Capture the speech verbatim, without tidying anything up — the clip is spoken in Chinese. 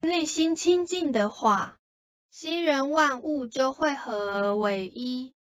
内心清净的话，心人万物就会合而为一。